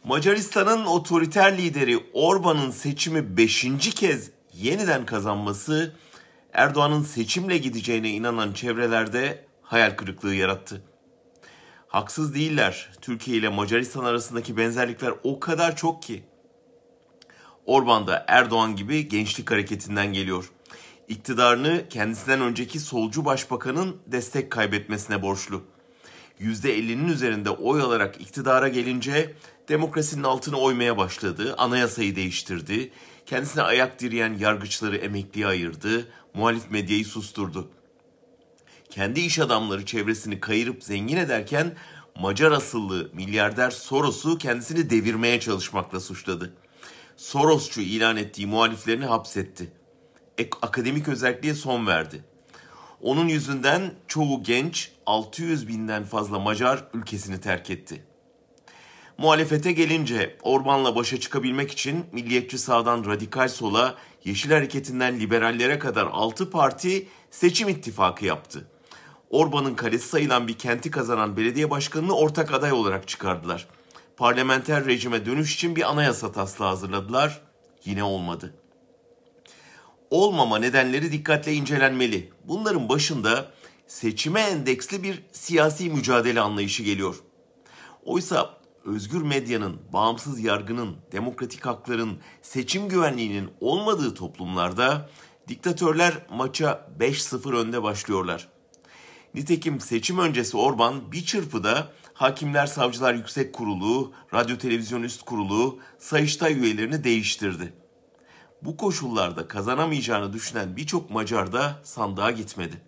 Macaristan'ın otoriter lideri Orban'ın seçimi 5. kez yeniden kazanması Erdoğan'ın seçimle gideceğine inanan çevrelerde hayal kırıklığı yarattı. Haksız değiller. Türkiye ile Macaristan arasındaki benzerlikler o kadar çok ki. Orban da Erdoğan gibi gençlik hareketinden geliyor. İktidarını kendisinden önceki solcu başbakanın destek kaybetmesine borçlu. %50'nin üzerinde oy alarak iktidara gelince demokrasinin altını oymaya başladı, anayasayı değiştirdi, kendisine ayak direyen yargıçları emekliye ayırdı, muhalif medyayı susturdu. Kendi iş adamları çevresini kayırıp zengin ederken Macar asıllı milyarder Soros'u kendisini devirmeye çalışmakla suçladı. Sorosçu ilan ettiği muhaliflerini hapsetti. Akademik özelliğe son verdi. Onun yüzünden çoğu genç 600 binden fazla Macar ülkesini terk etti. Muhalefete gelince Orban'la başa çıkabilmek için milliyetçi sağdan radikal sola, Yeşil Hareketi'nden liberallere kadar 6 parti seçim ittifakı yaptı. Orban'ın kalesi sayılan bir kenti kazanan belediye başkanını ortak aday olarak çıkardılar. Parlamenter rejime dönüş için bir anayasa taslağı hazırladılar. Yine olmadı. Olmama nedenleri dikkatle incelenmeli. Bunların başında seçime endeksli bir siyasi mücadele anlayışı geliyor. Oysa özgür medyanın, bağımsız yargının, demokratik hakların, seçim güvenliğinin olmadığı toplumlarda diktatörler maça 5-0 önde başlıyorlar. Nitekim seçim öncesi Orban bir çırpıda Hakimler Savcılar Yüksek Kurulu, Radyo Televizyon Üst Kurulu, Sayıştay üyelerini değiştirdi. Bu koşullarda kazanamayacağını düşünen birçok Macar da sandığa gitmedi.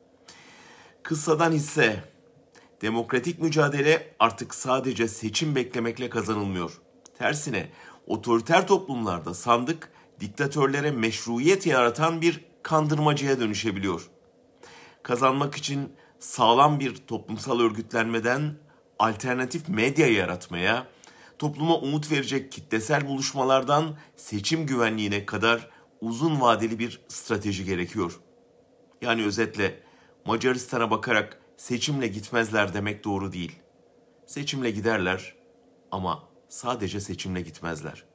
Kıssadan hisse, demokratik mücadele artık sadece seçim beklemekle kazanılmıyor. Tersine otoriter toplumlarda sandık diktatörlere meşruiyet yaratan bir kandırmacıya dönüşebiliyor. Kazanmak için sağlam bir toplumsal örgütlenmeden alternatif medya yaratmaya, topluma umut verecek kitlesel buluşmalardan seçim güvenliğine kadar uzun vadeli bir strateji gerekiyor. Yani özetle Macaristan'a bakarak seçimle gitmezler demek doğru değil. Seçimle giderler ama sadece seçimle gitmezler.